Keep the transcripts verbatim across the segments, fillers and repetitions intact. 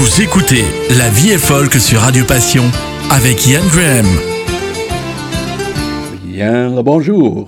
Vous écoutez La Vie est folk sur Radio Passion avec Ian Graham. Bien le bonjour.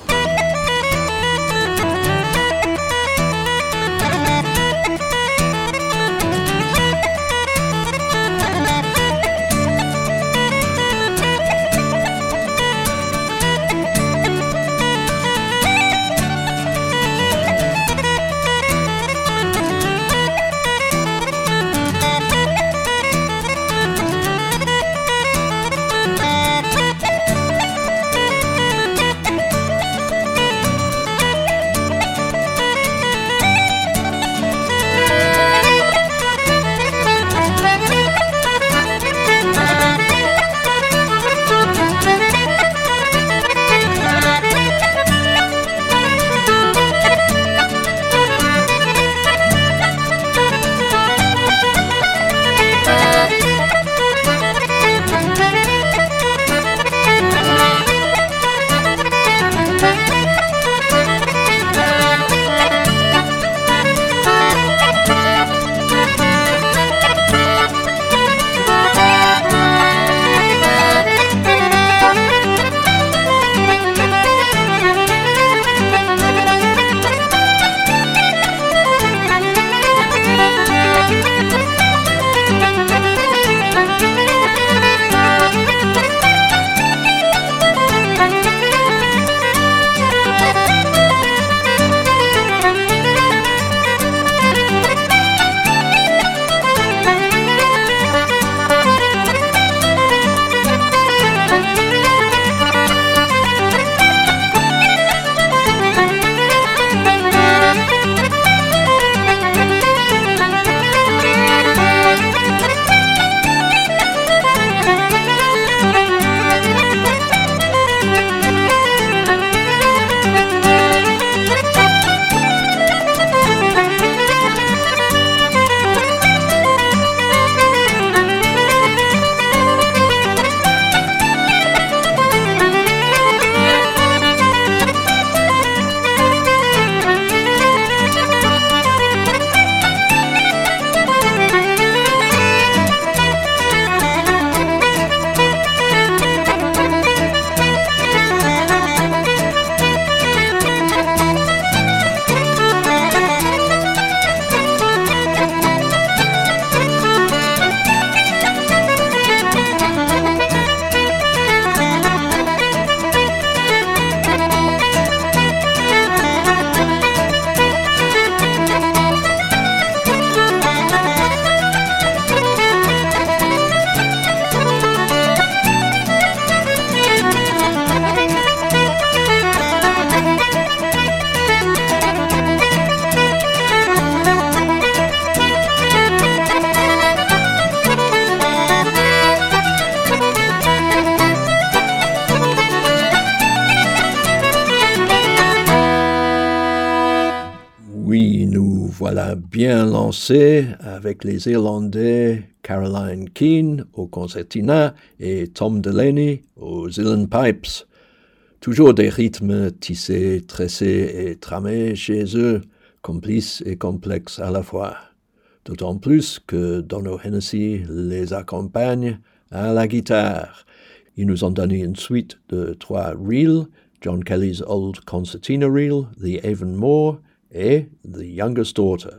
Bien lancé avec les Irlandais Caroline Keane au concertina et Tom Delaney aux Uilleann Pipes. Toujours des rythmes tissés, tressés et tramés chez eux, complices et complexes à la fois. D'autant plus que Donno Hennessy les accompagne à la guitare. Ils nous ont donné une suite de trois reels, John Kelly's Old Concertina Reel, The Avonmore et The Youngest Daughter.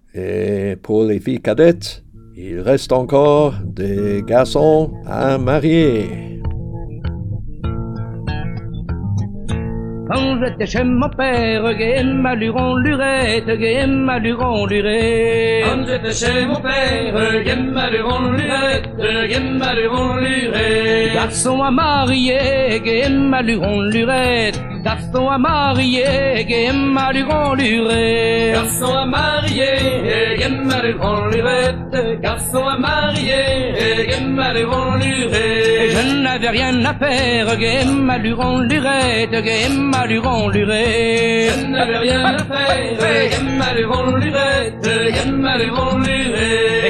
Et pour les filles cadettes, il reste encore des garçons à marier. Quand j'étais chez mon père, gai ma luron lurette, gai ma luron lurette. Quand j'étais chez mon père, gai ma luron lurette, gai ma luron lurette. Garçon à marier, gai ma luron lurette. Garçon à marier, gai ma luron lurette. Garçon à marier, gai ma luron lurette. Garçon à marier, gai ma luron lurette. Je n'avais rien à faire, gai ma luron lurette, gai ma luron lurette. Je n'avais rien à faire, gai ma luron lurette, gai ma luron lurette. Je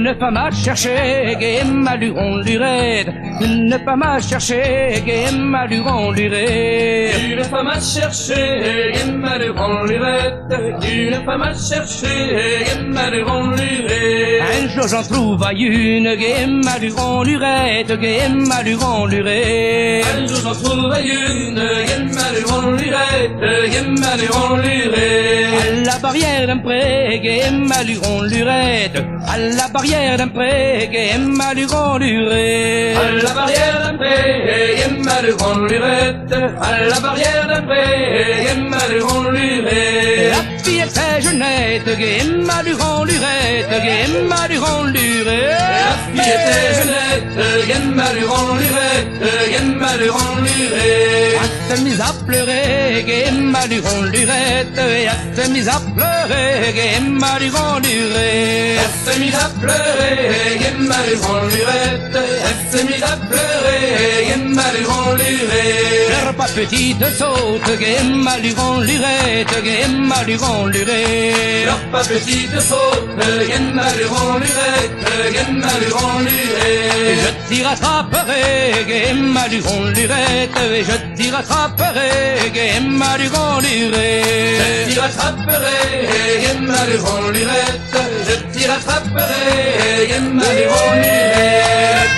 Une femme à chercher, game à luron lurette. Une femme à chercher, game à luron lurette. Une femme à chercher, game à luron lurette. Une femme à chercher, game à luron lurette. Un jour j'en trouve à une, game à luron lurette, game à luron lurette. Un jour j'en trouve à une, game à luron lurette, game à luron lurette. À la barrière d'un pré, game à luron lurette. À la barrière d'un pré, game à luron lurette. À la barrière d'un pré, game à luron lurette. À la barrière d'un pré, game à luron lurette. La fille était jeunette, game à luron lurette, game à luron lurette. La fille était jeunette, game à luron lurette, game à luron lurette. Elle s'est mise à pleurer, game à luron lurette. Et elle s'est mise à pleurer, game à luron lurette. Elle s'est mise à pleurer, game à luron lurette. Elle s'est mise à pleurer, game à luron lurette. Pleure pas petite saute, game à luron lurette, game à luron lurette. Pleure pas petite saute, game à luron lurette, game à luron lurette. Je t'y rattraperai, game à luron lurette. Et je t'y rattraperai, game à luron lurette. Je t'y rattraperai, game à luron lurette. Je t'y rattraperai, game à luron lurette.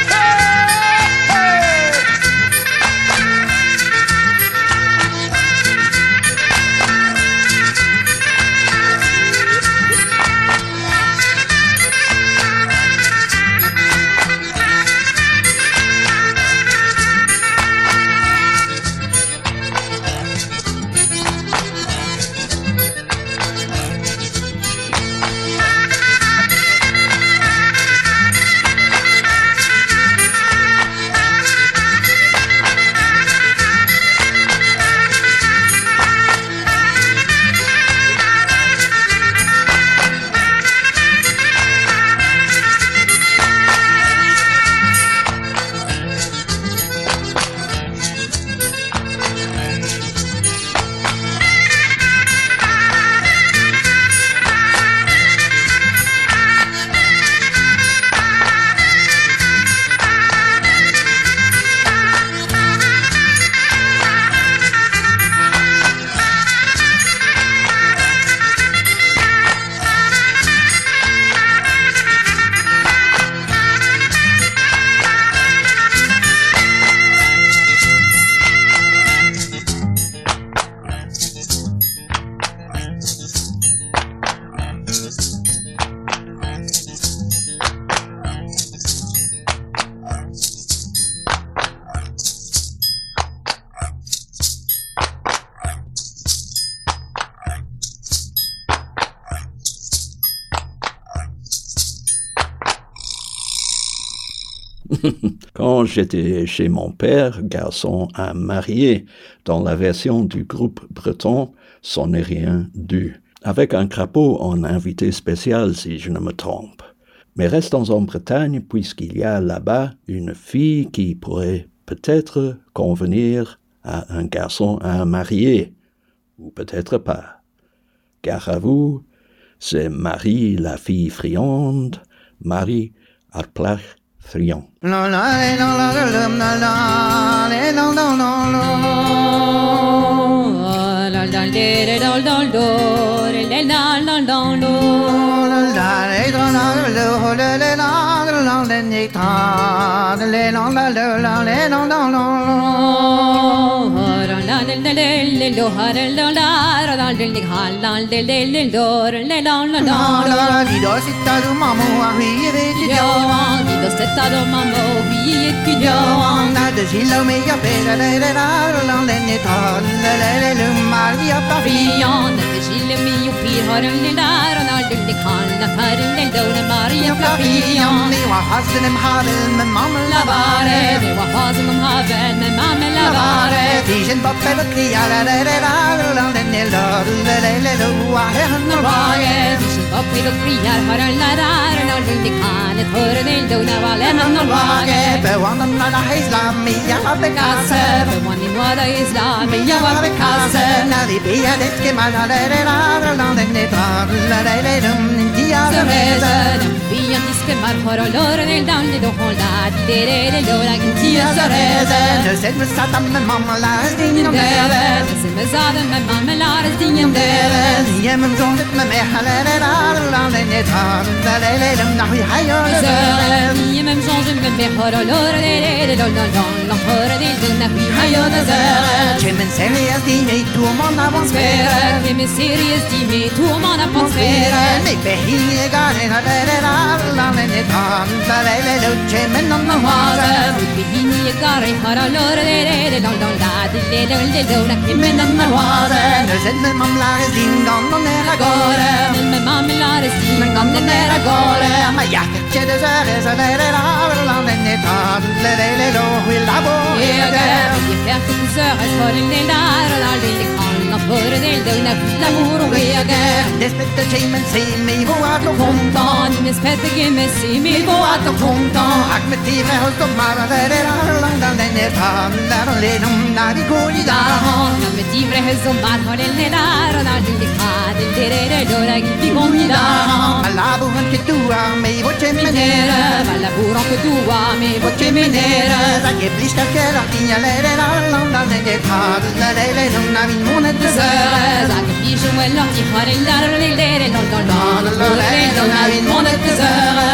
Quand j'étais chez mon père, garçon à marier, dans la version du groupe breton, Ce n'est rien du, avec un crapaud en invité spécial si je ne me trompe. Mais restons en Bretagne puisqu'il y a là-bas une fille qui pourrait peut-être convenir à un garçon à marier, ou peut-être pas. Car à vous, c'est Marie la fille friande, Marie Arplach friand. mar horo loro del dan de hola de de lora tia sareza de set me satam me mamma la ding de se me zaden me mamma la ding de je me zon het me me hala la la de net ha la la la na hi hayo je me zon me me horo loro de de lon lon lon horo de de na hi hayo de je me serious di me tu man avons spera je me serious di me tu man avons spera me be hi ga ne la la la la de net ha la la la je me non no ha me hi ni ga re horo loro de de lon lon la de de lon de lon na hi me non no ha de set me mam la ding don non era agora me mamma la ding don non era agora ma ja che de sare sa la la la de net ha la la la lo la bo je fährt du sör es vor den där la de kan för del de na la muro jag despetta che men se mi vo at lo kontan mes pette ge me se mi vo at kontan ak med ti me hos ma la la la la de net ha la la le nom na di ko di da med ti me hos ma har den där la de kan de de de do la di ko di da la bu han che tu a me vo che me nera la buro che tu a me vo che me nera sa che blista che la tigna le la la la de net ha la la le nom na vi monet de sa che dice quello ti fare il dare le le no no no no no no il mondo è tesoro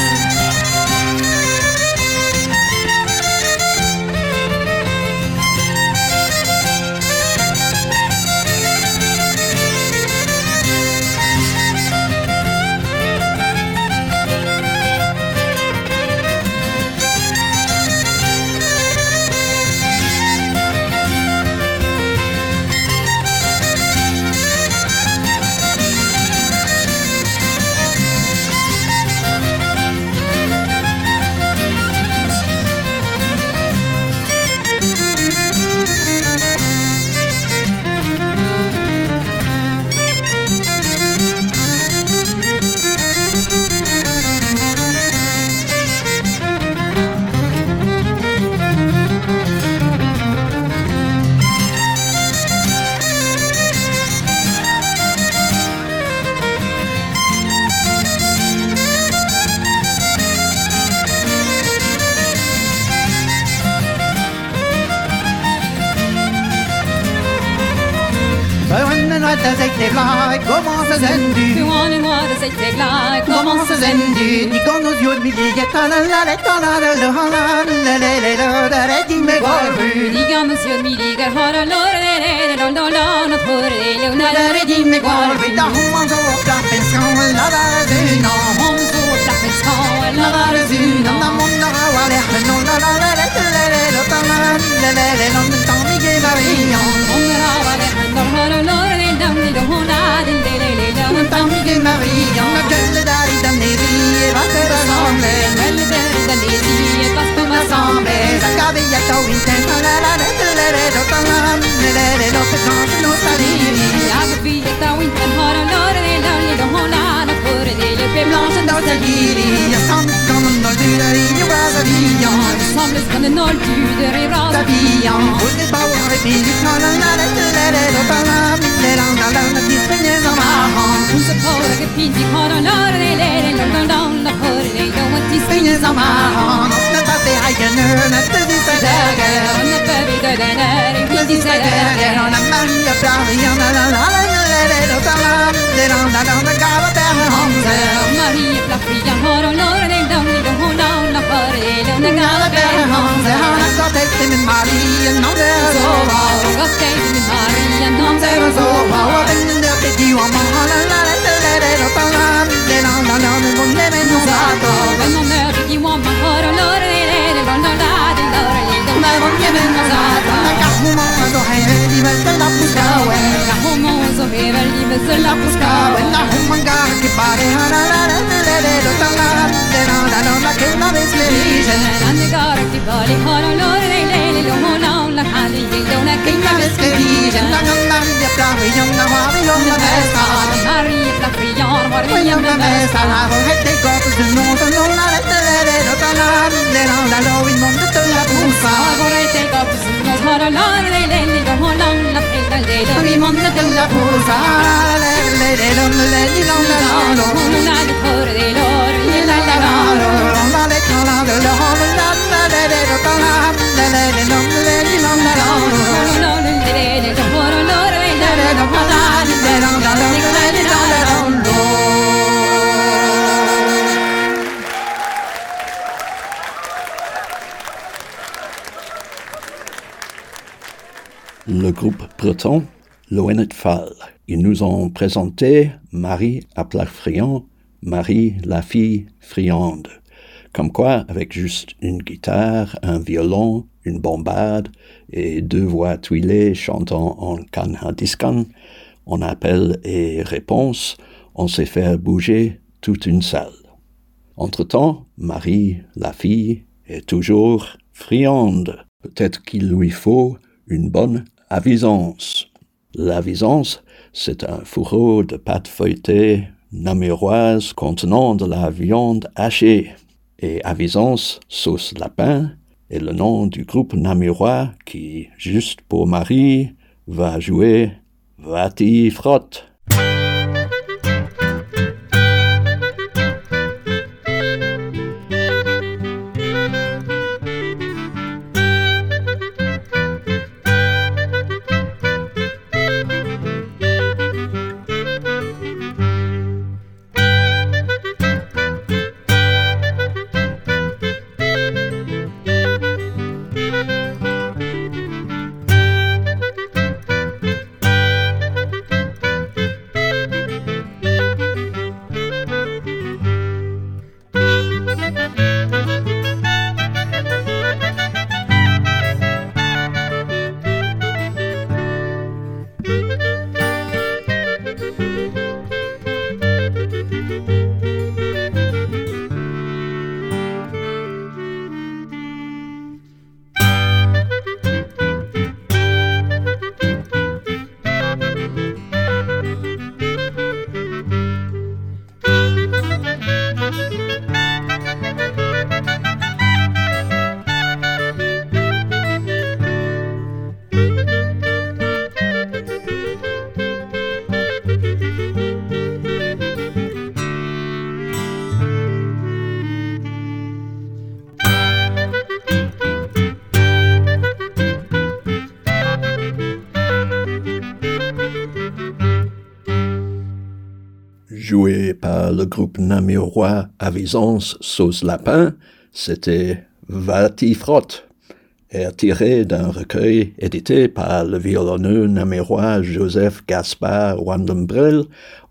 Comment se zendu Tu en moi de cette éclat comment se zendu Di con nos yeux mi ligue ta la la la ta la la la la la la la la la di me golfu Di con nos yeux mi ligue har la la la la la la la for le una la di me golfu Da hon så ofta pension la la du no hon så ofta pension la la du no na monna wa le no la la la la la la la ta la la la la non ta mi che marino hon ra va le no har la la la la hona de le le le non ta mi che marino na gelle dari da neri e va per ensemble le dari da neri e va per ensemble la caviglia ta winten la la la la la la ta la la la la la per non sta lì la caviglia ta winten har la la la la hona na for de le pe blanche dans ta giri ya sam comme dans du dari you was a vision semble comme dans du de rira ta vision vous êtes pas voir et puis la la la la la la la ta la la la la la ti spegne za ma un se pora che pinti con la la la la la la la for de le ti spegne za ma na ta te ai che ne na te di sa da che na te vi de de ne ti sa da che na maria praia la la la la la la ta la la la la la cava per honze Maria praia har la la la la la la for de le una cava per honze ha ta te te Maria non de so va ga te mi Maria non te so va wa den de te di wa ma la la la la la ta la la la la non ne me no sa to non ne di wa ma har la la la la la la ma non ne me no sa to na ka hu ma do hai di va te la pusca we ka hu ma so he va di va se la pusca we na hu manga che pare la la la la la ta la la la la la che la ves le dice ande gara che vale har la la la la la la hali de una che la ves che dice na na Maria praia na Maria na festa Maria praia Maria na festa la ho hette cose del mondo non la la la la ta la la la la il mondo te la pusa vorrete cose non har la la la la la la pella de il mondo te la pusa la la la la la la la la una de for de loro la la la le groupe breton Loennet Fall. Ils nous ont présenté Marie à plat friand, Marie la fille friande. Comme quoi, avec juste une guitare, un violon, une bombarde et deux voix tuilées chantant en canhadiscan, en appel et réponse, on sait faire bouger toute une salle. Entre-temps, Marie, la fille, est toujours friande. Peut-être qu'il lui faut une bonne avisance. L'avisance, c'est un fourreau de pâte feuilletée namuroise contenant de la viande hachée. Et avisance, sauce lapin, est le nom du groupe namurois qui, juste pour Marie, va jouer Va-t'y frotte. Joué par le groupe namurois Avisance Sauce Lapin, c'était Va-t'y frotte, air tiré d'un recueil édité par le violonneux namurois Joseph Gaspard Wandembrel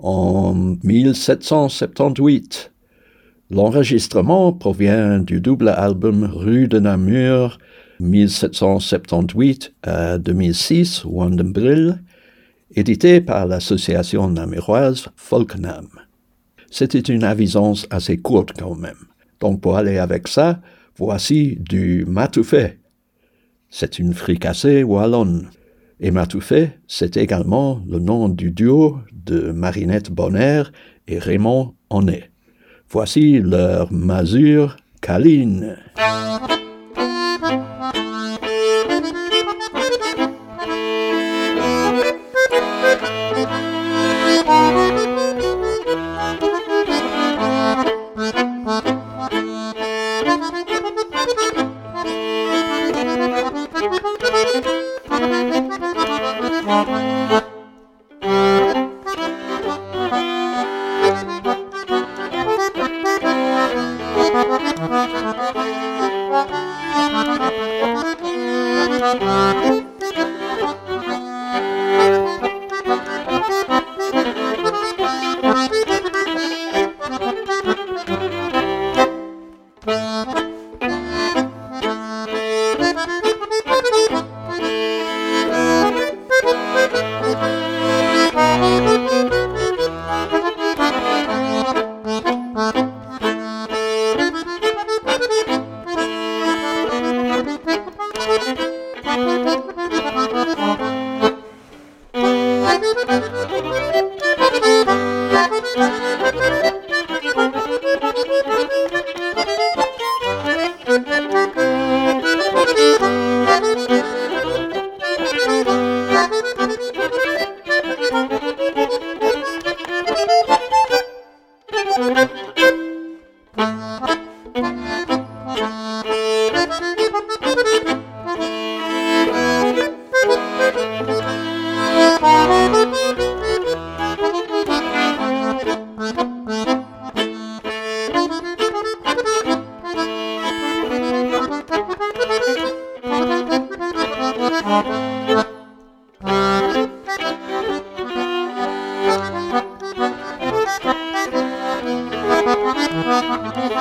en mille sept cent soixante-dix-huit. L'enregistrement provient du double album Rue de Namur mille sept cent soixante-dix-huit à deux mille six, Wandembrel, édité par l'association namuroise Folknam. C'était une avisance assez courte quand même. Donc pour aller avec ça, voici du matoufé. C'est une fricassée wallonne. Et matoufé, c'est également le nom du duo de Marinette Bonner et Raymond Honnet. Voici leur masure câline.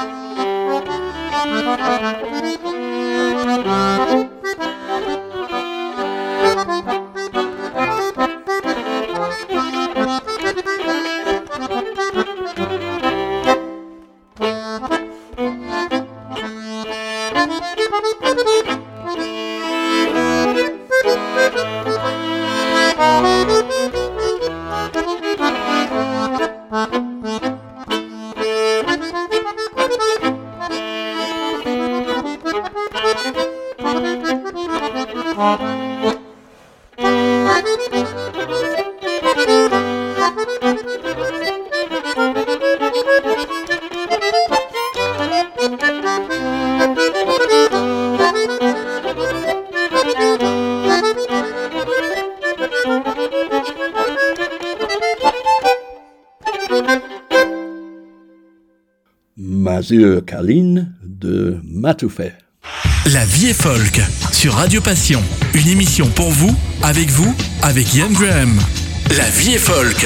Mazur Kaline de Matoufet. La vie est folk sur Radio Passion. Une émission pour vous, avec vous, avec Ian Graham. La vie est folk.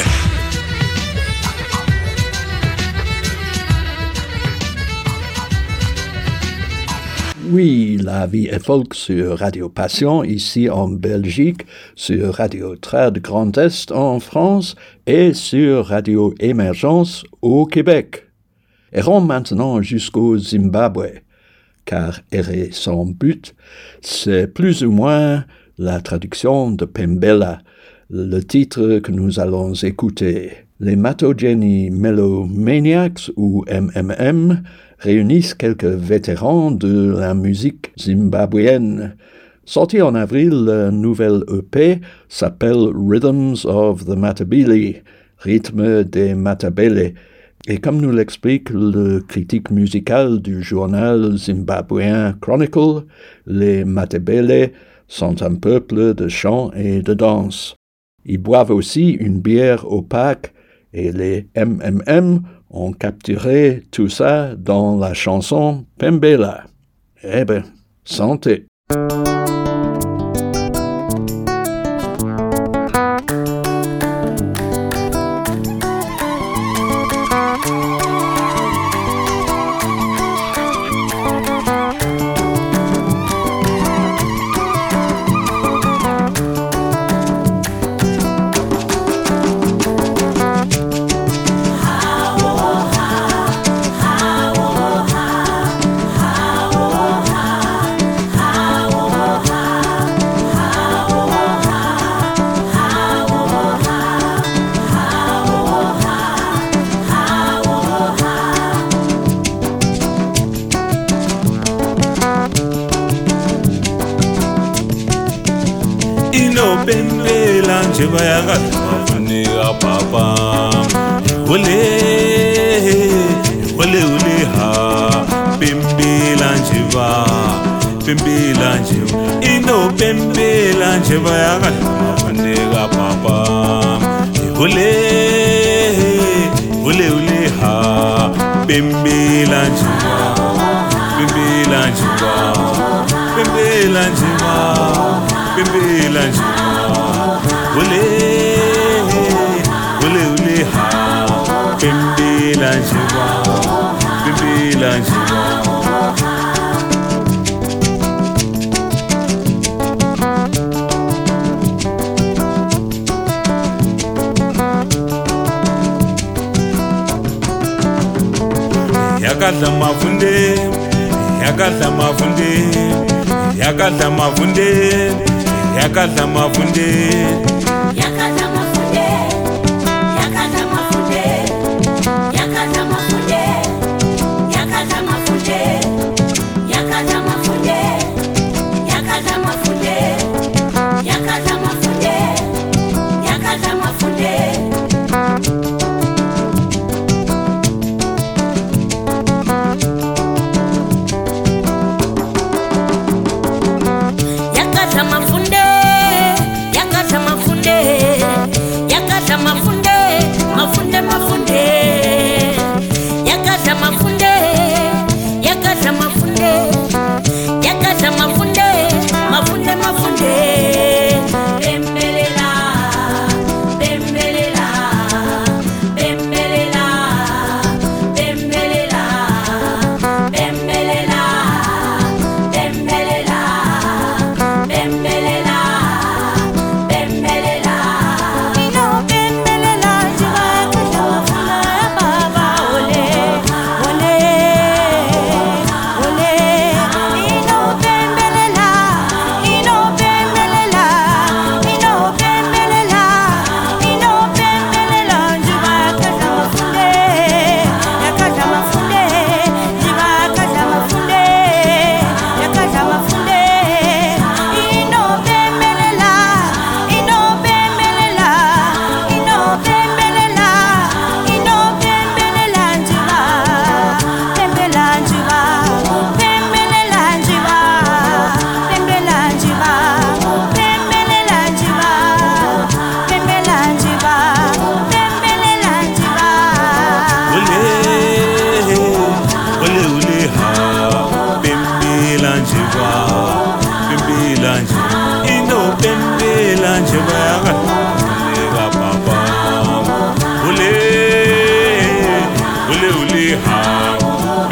Oui, la vie est folk sur Radio Passion, ici en Belgique, sur Radio Trad Grand Est en France et sur Radio Émergence au Québec. Errons maintenant jusqu'au Zimbabwe, car errer sans but, c'est plus ou moins la traduction de Pembela, le titre que nous allons écouter. Les Matogeni Melomaniacs, ou M M M, réunissent quelques vétérans de la musique zimbabwéenne. Sorti en avril, la nouvelle E P s'appelle Rhythms of the Matabele, rythme des Matabele. Et comme nous l'explique le critique musical du journal zimbabwéen Chronicle, les Matabele sont un peuple de chant et de danse. Ils boivent aussi une bière opaque et les M M M ont capturé tout ça dans la chanson Pembela. Eh ben, santé! Bayaka mafunika papa ole ole ole ha pembela njiva pembela njiva ino pembela njiva bayaka mafunika papa ole ole ole ha pembela njiva pembela njiva pembela njiva pembela njiva Ole, ole, ole, ha, pembela njiva, pembela njiva. Yakadla mafunde, yakadla mafunde, yakadla mafunde, yakadla mafunde.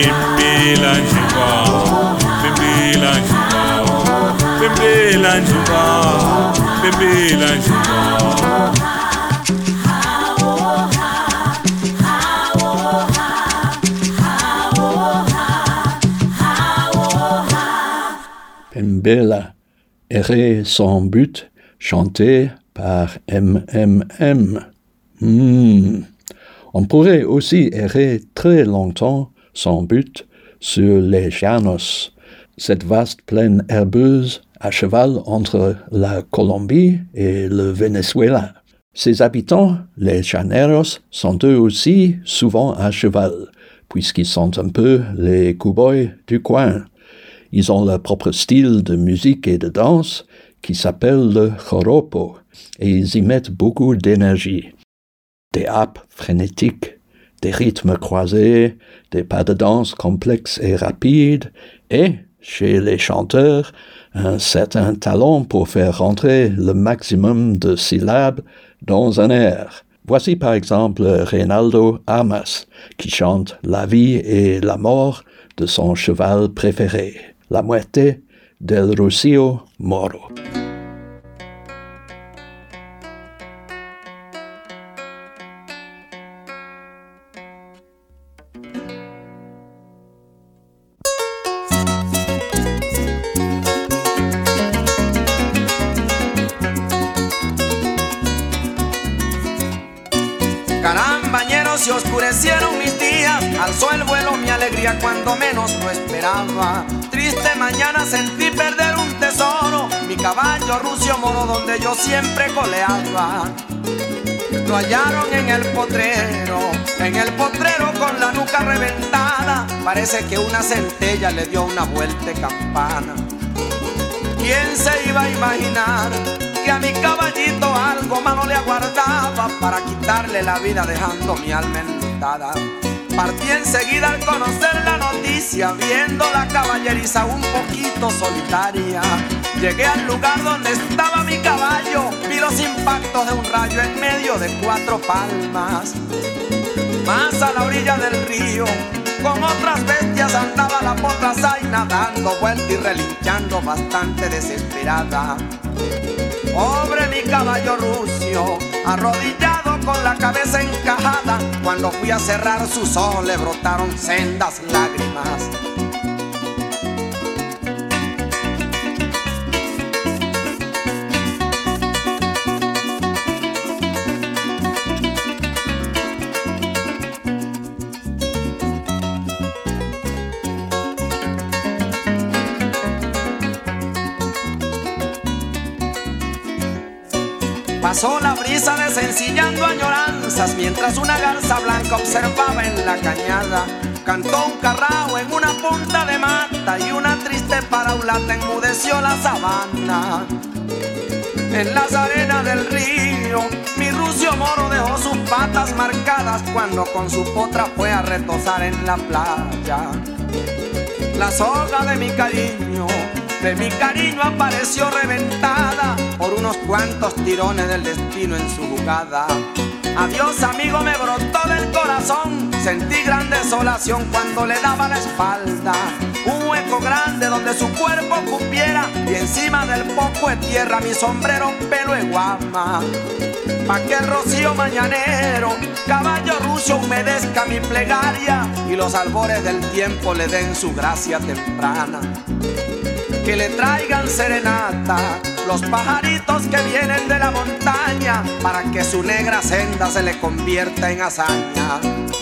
Bimbila njuba, bimbila njuba, bimbila njuba, bimbila njuba. Pembela, errer sans but, chanté par M M M. Hmm. On pourrait aussi errer très longtemps sans but sur les llanos, cette vaste plaine herbeuse à cheval entre la Colombie et le Venezuela. Ses habitants, les llaneros, sont eux aussi souvent à cheval, puisqu'ils sont un peu les cow-boys du coin. Ils ont leur propre style de musique et de danse qui s'appelle le joropo, et ils y mettent beaucoup d'énergie. Des apes frénétiques, des rythmes croisés, des pas de danse complexes et rapides, et, chez les chanteurs, un certain talent pour faire rentrer le maximum de syllabes dans un air. Voici par exemple Reinaldo Armas, qui chante la vie et la mort de son cheval préféré, la muerte del Rocío Moro. Carambañeros, se oscurecieron mis días, alzó el vuelo mi alegría cuando menos lo esperaba. Triste mañana sentí perder un tesoro, mi caballo Rucio Moro donde yo siempre coleaba. Lo hallaron en el potrero, en el potrero con la nuca reventada, parece que una centella le dio una vuelta de campana. ¿Quién se iba a imaginar que a mi caballito algo malo le aguardaba para quitarle la vida dejando mi alma enlutada? Partí enseguida al conocer la noticia, viendo la caballeriza un poquito solitaria. Llegué al lugar donde estaba mi caballo, vi los impactos de un rayo en medio de cuatro palmas. Más a la orilla del río, con otras bestias andaba la potra zaina, dando vuelta y relinchando bastante desesperada. Pobre mi caballo Rucio, arrodillado con la cabeza encajada, cuando fui a cerrar sus ojos le brotaron sendas lágrimas. Pasó la brisa desencillando añoranzas, mientras una garza blanca observaba en la cañada. Cantó un carrao en una punta de mata y una triste paraulata enmudeció la sabana. En las arenas del río, mi Rucio Moro dejó sus patas marcadas cuando con su potra fue a retozar en la playa. La soga de mi cariño, de mi cariño apareció reventada por unos cuantos tirones del destino en su jugada. Adiós amigo me brotó del corazón, sentí gran desolación cuando le daba la espalda. Un hueco grande donde su cuerpo cupiera y encima del poco de tierra mi sombrero pelo de guama. Pa' que el rocío mañanero, caballo Rucio, humedezca mi plegaria y los albores del tiempo le den su gracia temprana. Que le traigan serenata los pajaritos que vienen de la montaña, para que su negra senda se le convierta en hazaña.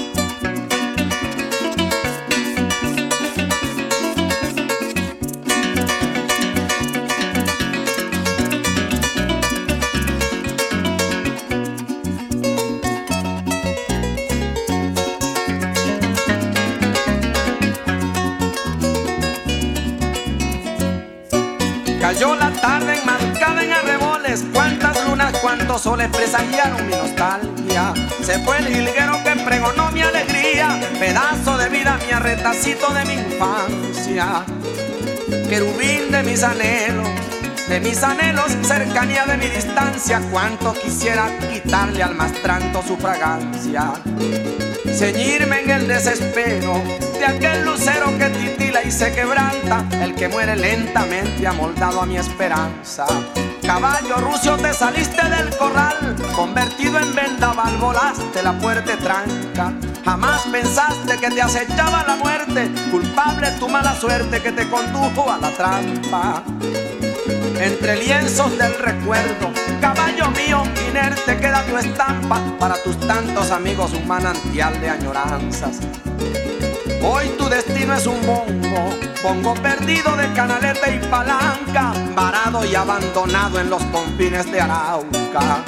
Cayó la tarde enmarcada en arreboles, cuántas lunas, cuántos soles presagiaron mi nostalgia. Se fue el jilguero que pregonó mi alegría, pedazo de vida, mi arretacito de mi infancia. Querubín de mis anhelos, de mis anhelos, cercanía de mi distancia. Cuánto quisiera quitarle al mastranto su fragancia, ceñirme en el desespero de aquel lucero que titila y se quebranta, el que muere lentamente amoldado a mi esperanza. Caballo rucio, te saliste del corral, convertido en vendaval, volaste la fuerte tranca. Jamás pensaste que te acechaba la muerte, culpable tu mala suerte que te condujo a la trampa. Entre lienzos del recuerdo, caballo mío, inerte queda tu estampa, para tus tantos amigos un manantial de añoranzas. Hoy tu destino es un bongo, bongo perdido de canaleta y palanca, varado y abandonado en los confines de Arauca.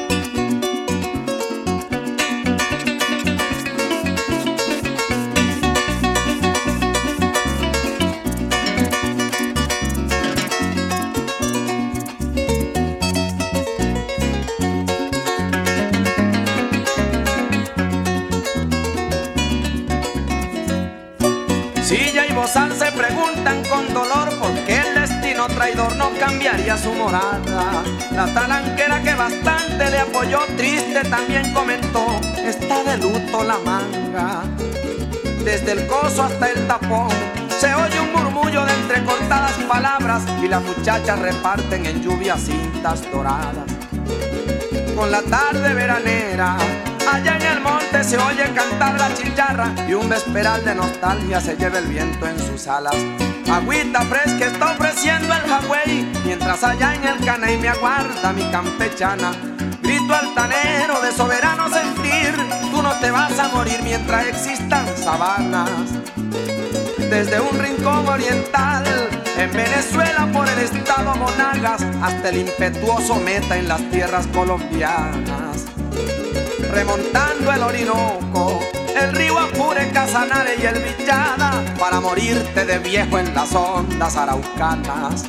Silla y bozal se preguntan con dolor por qué el destino traidor no cambiaría su morada. La talanquera que bastante le apoyó, triste también comentó, está de luto la manga. Desde el coso hasta el tapón se oye un murmullo de entrecortadas palabras, y las muchachas reparten en lluvia cintas doradas. Con la tarde veranera, allá en el monte se oye cantar la chicharra, y un vesperal de nostalgia se lleva el viento en sus alas. Agüita fresca está ofreciendo el jagüey, mientras allá en el caney me aguarda mi campechana. Grito altanero de soberano sentir, tú no te vas a morir mientras existan sabanas. Desde un rincón oriental, en Venezuela por el estado Monagas, hasta el impetuoso Meta en las tierras colombianas. Remontando el Orinoco, el río Apure, Casanare y el Villada, para morirte de viejo en las ondas araucanas.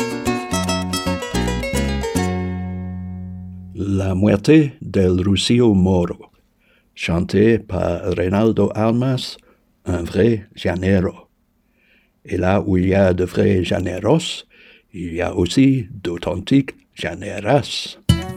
La muerte del Rocío Moro, chanté par Reynaldo Almas, un vrai llanero. Et là où il y a de vrais llaneros, il y a aussi d'authentiques llaneras.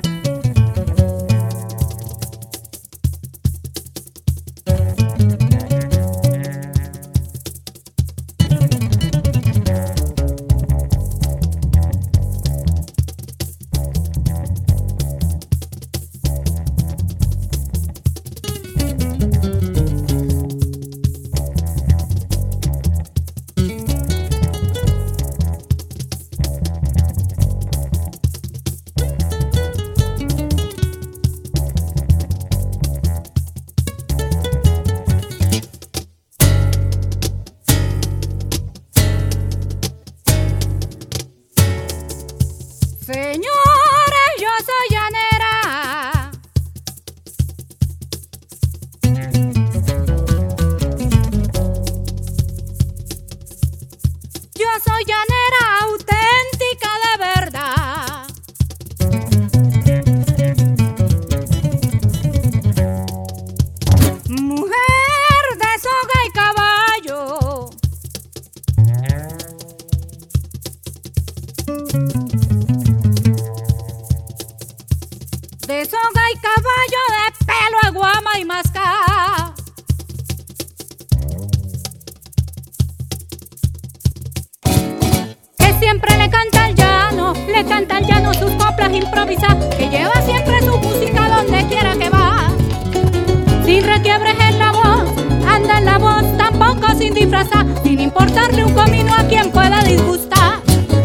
Sin importarle un comino a quien pueda disgustar.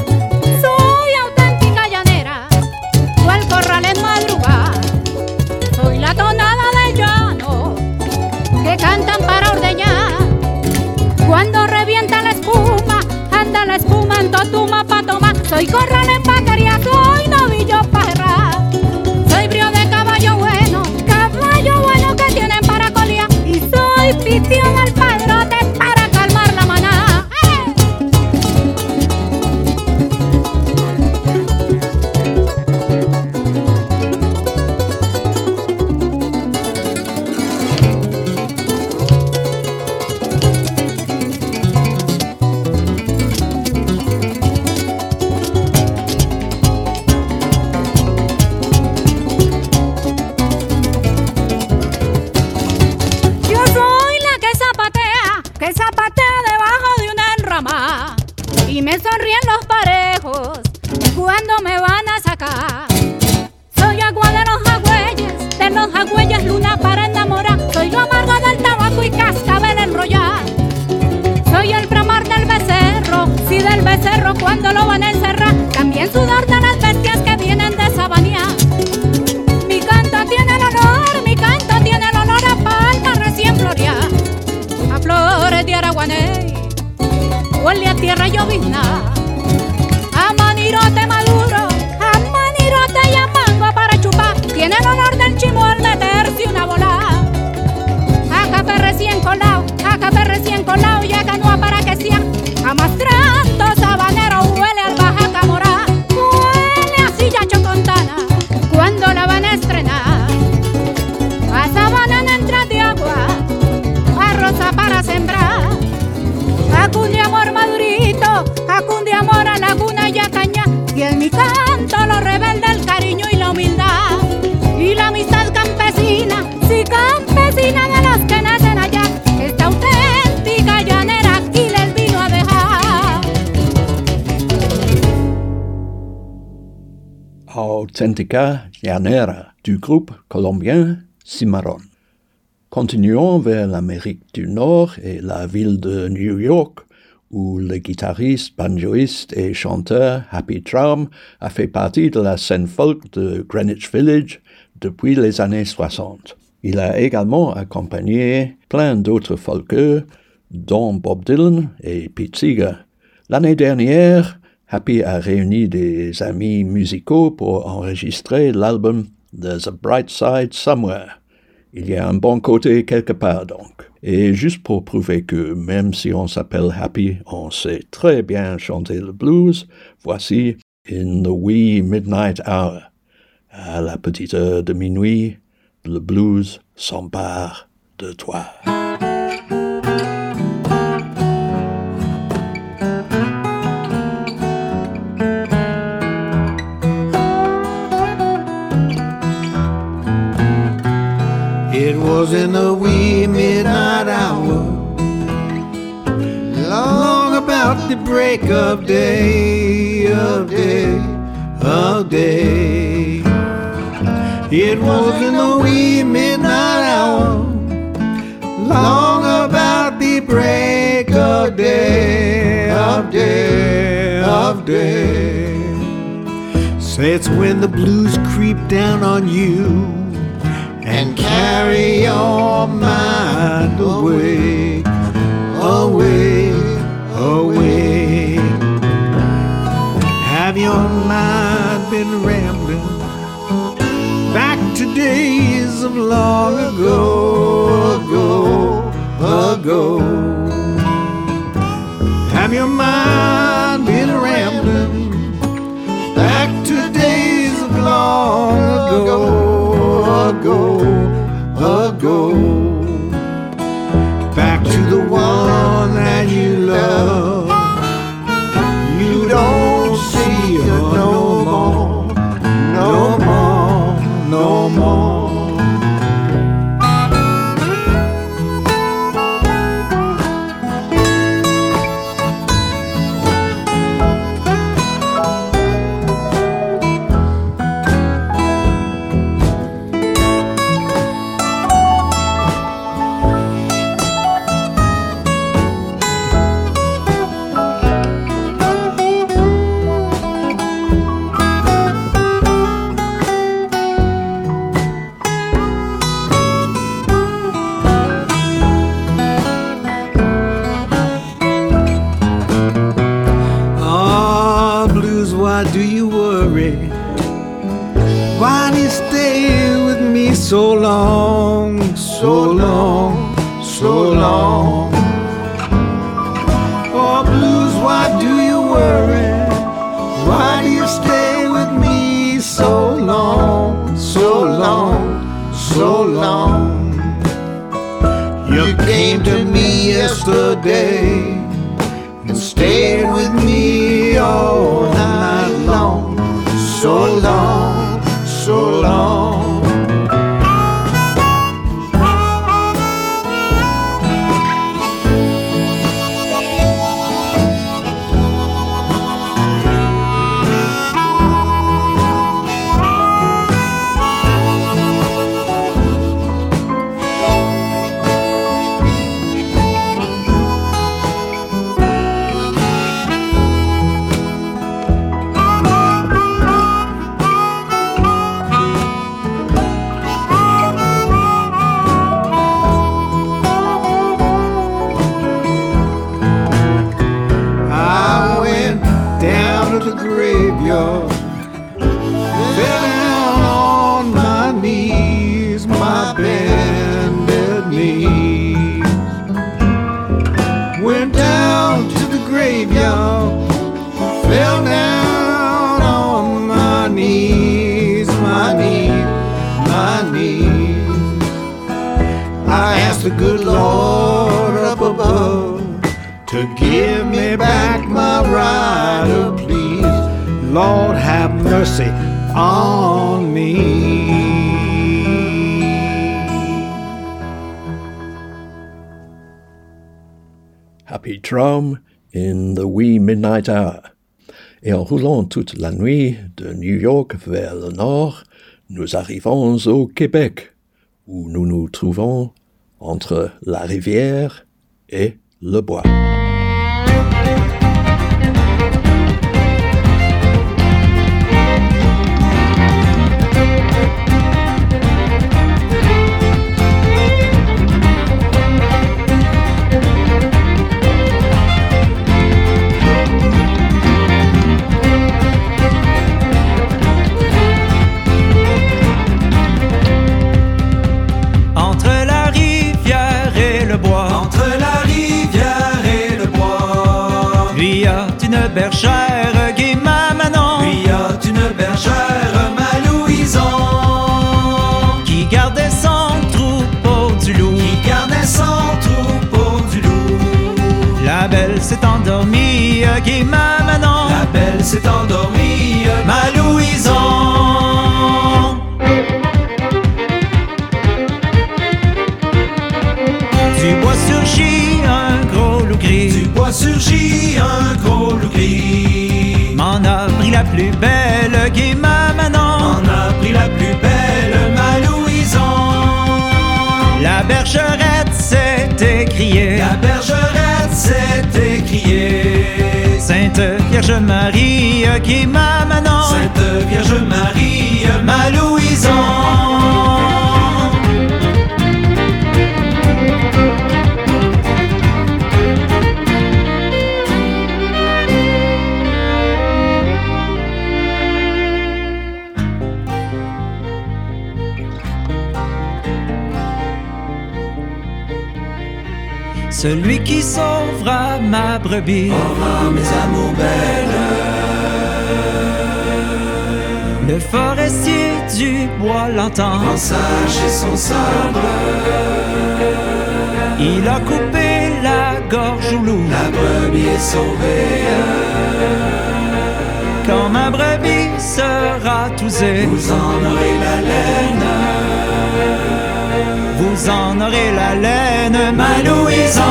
Soy auténtica llanera, cual corral en madrugada. Soy la tonada de llano que cantan para ordeñar. Cuando revienta la espuma, anda la espuma en totuma pa' tomar. Soy corral en vaquería, soy novillo pa' errar. Soy brío de caballo bueno, caballo bueno que tienen para colía. Y soy pistión al padrote para calmar la manada. ¡Eh! y me sonríen los parejos cuando me van a sacar. Soy agua de los jagüeyes, de los jagüeyes luna para enamorar. Soy lo amargo del tabaco y cascabel enrollar. Soy el bramar del becerro, sí del becerro cuando lo van a encerrar. También sudor de las bestias que vienen de Sabanía. Mi canto tiene el olor, mi canto tiene el olor a palma recién floreada, a flores de araguaney, huele a tierra llovizna, a manirote maduro, a manirote y a mango para chupar. Tiene el olor del chimo al meterse una bola, a café recién colado, a café recién colado y a canoa para que sea. A mastrato sabanero huele al Baja Camorá, huele a silla chocontana cuando la van a estrenar. A sabana en entrada de agua, a rosa para sembrar, a cun de amor madurito, a cun de amor a laguna y a caña. Y en mi canto lo rebelde el cariño y la humildad y la amistad campesina, sí campesina de los que nacen allá. Esta auténtica llanera aquí les vino a dejar. Auténtica llanera du groupe colombien Cimarron. Continuons vers l'Amérique du Nord et la ville de New York, où le guitariste, banjoiste et chanteur Happy Traum a fait partie de la scène folk de Greenwich Village depuis les années soixante. Il a également accompagné plein d'autres folkeurs, dont Bob Dylan et Pete Seeger. L'année dernière, Happy a réuni des amis musicaux pour enregistrer l'album There's a Bright Side Somewhere. Il y a un bon côté quelque part donc. Et juste pour prouver que même si on s'appelle Happy, on sait très bien chanter le blues, voici In the Wee Midnight Hour. À la petite heure de minuit, le blues s'empare de toi. It was in the wee midnight hour, long about the break of day, of day, of day. It was in the wee midnight hour, long about the break of day, of day, of day. Say it's when the blues creep down on you and carry your mind away, away, away. Have your mind been rambling back to days of long ago, ago, ago? Have your mind been rambling back to days of long ago, ago, ago, back to the one that you love? You don't see her no more, no more, no more. So long, so long, so long. Oh, blues, why do you worry? Why do you stay with me so long, so long, so long? You came to me yesterday and stayed with me all night long, so long, so long. back my rider, please. Lord, have mercy on me. Happy Drum in the wee midnight hour. Et en roulant toute la nuit de New York vers le nord, nous arrivons au Québec, où nous nous trouvons entre la rivière et le bois. Bergère, Guima Manon. Lui a une bergère, ma Louison, qui gardait son troupeau du loup. Qui gardait son troupeau du loup. La belle s'est endormie, Guima Manon. La belle s'est endormie, ma Louison. Du bois surgit un gros loup gris. Du bois surgit un gros loup gris. M'en a pris la plus belle, Guima Manon. M'en a pris la plus belle, ma Louison. La bergerette s'est écriée. La bergerette s'est écriée. Sainte Vierge Marie, Guima Manon. Sainte Vierge Marie, ma Louison. Celui qui sauvera ma brebis aura mes amours belles. Le forestier du bois l'entend, en sage et son sabre. Il a coupé la gorge au loup. La brebis est sauvée. Quand ma brebis sera tousée, vous en aurez la laine. Vous en aurez la laine, ma Louison.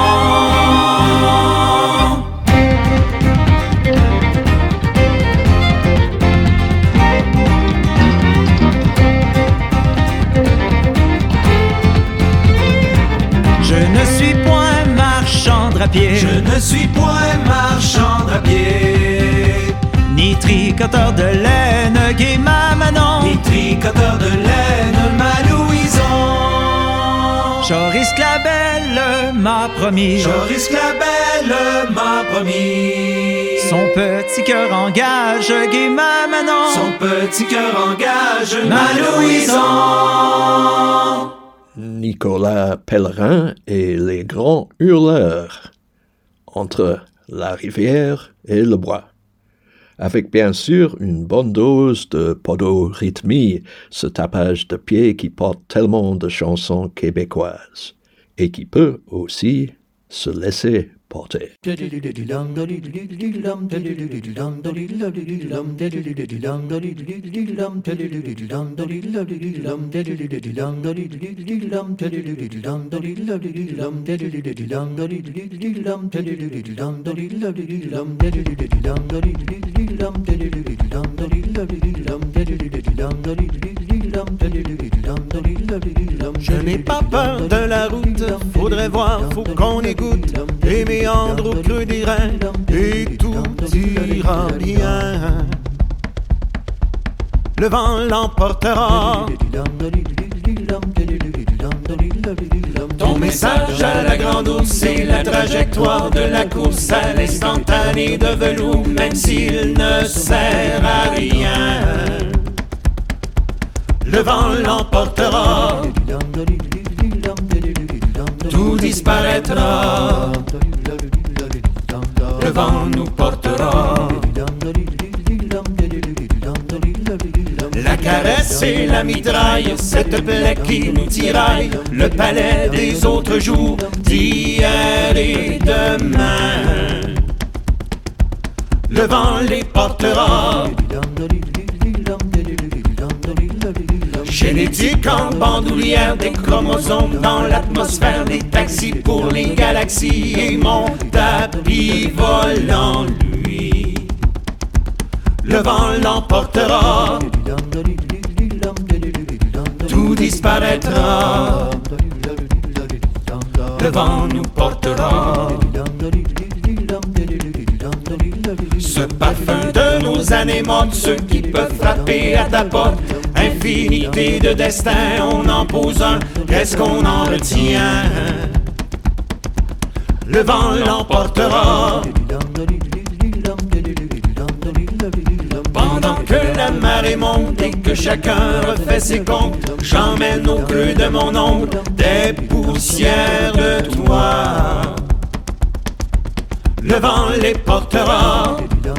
Je ne suis point marchand à pied. Je ne suis point marchand à pied. Ni tricoteur de laine, Guima Manon. Ni tricoteur de laine, ma Louison. Joris Clabelle m'a promis. Joris Clabelle m'a promis. Son petit cœur engage, Guima Manon. Son petit cœur engage, ma Louison. Nicolas Pellerin et les grands hurleurs entre la rivière et le bois. Avec bien sûr une bonne dose de podorythmie, ce tapage de pied qui porte tellement de chansons québécoises, et qui peut aussi se laisser porter. Je n'ai pas peur de la route, faudrait voir, faut qu'on écoute les méandres au creux des reins, et tout ira bien. Le vent l'emportera. Ton message à la grande ours et la trajectoire de la course à l'instantané de velours, même s'il ne sert à rien. Le vent l'emportera, tout disparaîtra. Le vent nous portera. La caresse et la mitraille, cette plaie qui nous tiraille, le palais des autres jours, d'hier et demain. le vent les portera. Génétique en bandoulière, des chromosomes dans l'atmosphère, des taxis pour les galaxies et mon tapis volant, lui, le vent l'emportera, tout disparaîtra, le vent nous portera. Ce parfum de nos années mortes, ceux qui peuvent frapper à ta porte, infinité de destins, on en pose un, qu'est-ce qu'on en retient? Le vent l'emportera. Pendant que la marée monte et que chacun refait ses comptes, j'emmène au creux de mon ombre des poussières de toi. Le vent les portera,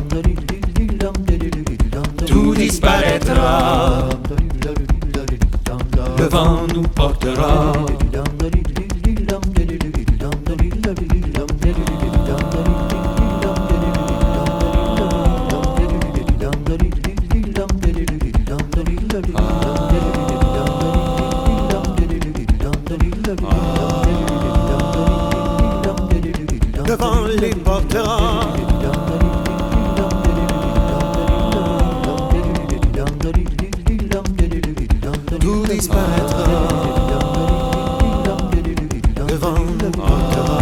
tout disparaîtra. Le vent nous portera. Le vent les portera. Tout disparaîtra. Le vent nous portera.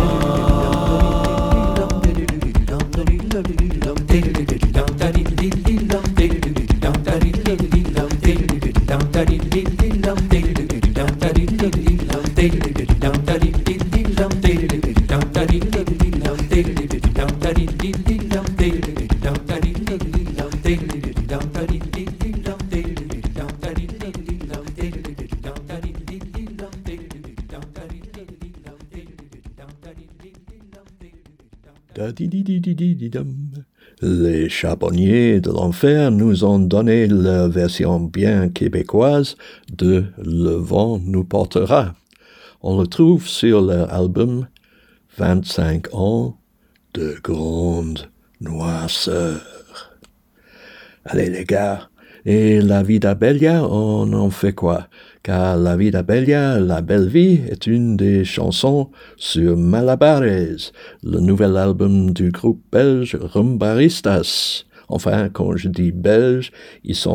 Les charbonniers de l'enfer nous ont donné la version bien québécoise de Le vent nous portera. On le trouve sur leur album vingt-cinq ans de grande noirceur. Allez les gars, et La Vida Bella, on en fait quoi? Car La Vida Bella, La Belle Vie, est une des chansons sur Malabares, le nouvel album du groupe belge Rumbaristas. Enfin, quand je dis belge, ils sont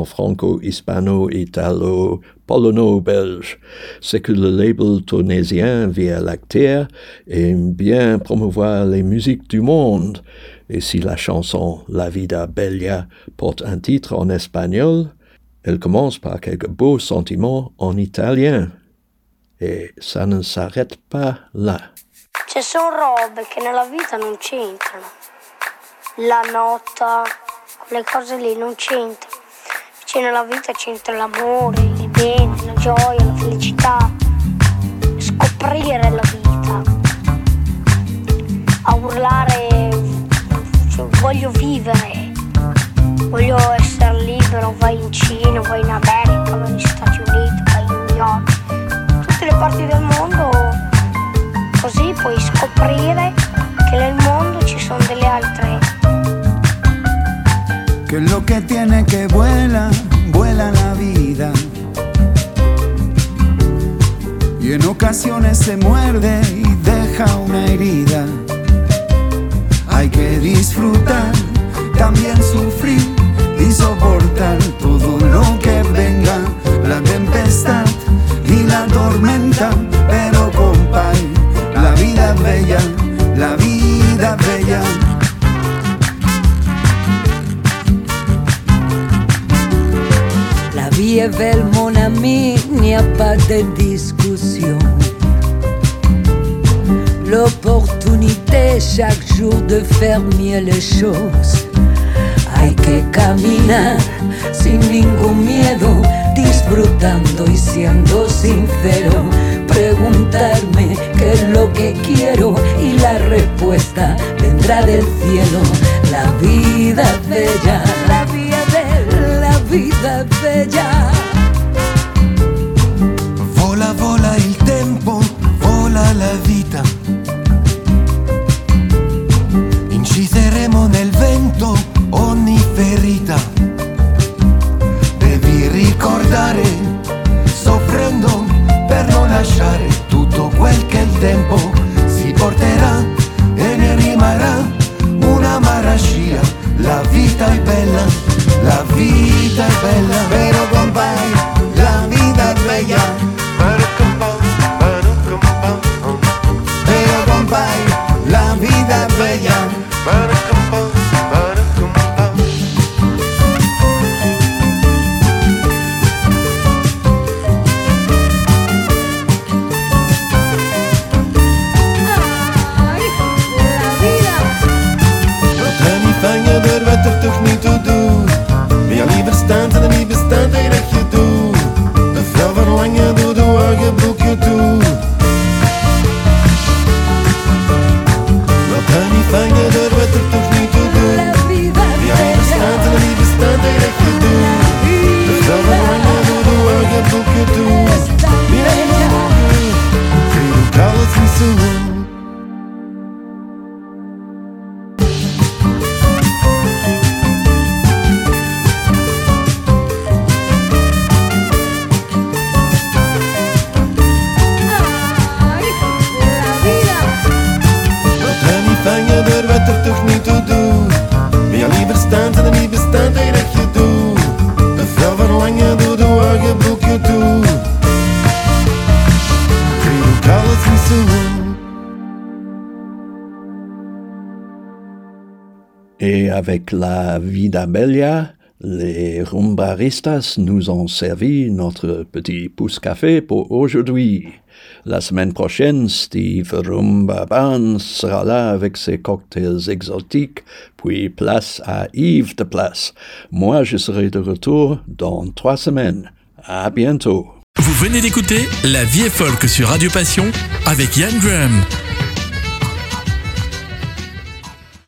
franco-hispano-italo-polono-belge. C'est que le label tunisien Via Lactea aime bien promouvoir les musiques du monde. Et si la chanson La Vida Bella porte un titre en espagnol, elle commence par quelques beaux sentiments en italien. E ça ne s'arrête pas là. Ci sono robe che nella vita non c'entrano. La nota, quelle cose lì non c'entrano. Invece nella vita c'entra l'amore, il bene, la gioia, la felicità. Scoprire la vita. A urlare, cioè, voglio vivere. Voglio essere libero, vai in Cina, vai in America, vai negli Stati Uniti, vai in New York, tutte le parti del mondo, così puoi scoprire che nel mondo ci sono delle altre. Que lo que tiene que vuela, vuela la vida. Y en ocasiones se muerde y deja una herida. Hay que disfrutar, también sufrir y soportar todo lo que venga, la tempestad y la tormenta, pero compay, la vida es bella, la vida es bella. La vie est belle mon ami, il n'y a pas de discussion. L'opportunité chaque jour de faire mieux les choses. Hay que caminar sin ningún miedo, disfrutando y siendo sincero. Preguntarme qué es lo que quiero y la respuesta vendrá del cielo. La vida es bella, la vida es bella, la vida es bella. Vola, vola il tempo, vola la vita. Incideremo nel vento van je deur wat er toch niet toe doet. Wil je liever staan en niet bestaan tegen dat je doet. De vrouw van lange doet de wagen broekje toe. Laat haar niet vangen door wat er toch niet toe doet. Wil je liever staan en niet bestaan tegen dat je doet. De vrouw van lange doet de wagen broekje toe. Mira je mogen, kreeg ook alles niet zo goed. Et avec la Vida Bella, les rumbaristas nous ont servi notre petit pouce-café pour aujourd'hui. La semaine prochaine, Steve Rumba Band sera là avec ses cocktails exotiques, puis place à Yves de Place. Moi, je serai de retour dans trois semaines. À bientôt. Vous venez d'écouter La Vie est folk sur Radio Passion avec Yann Graham.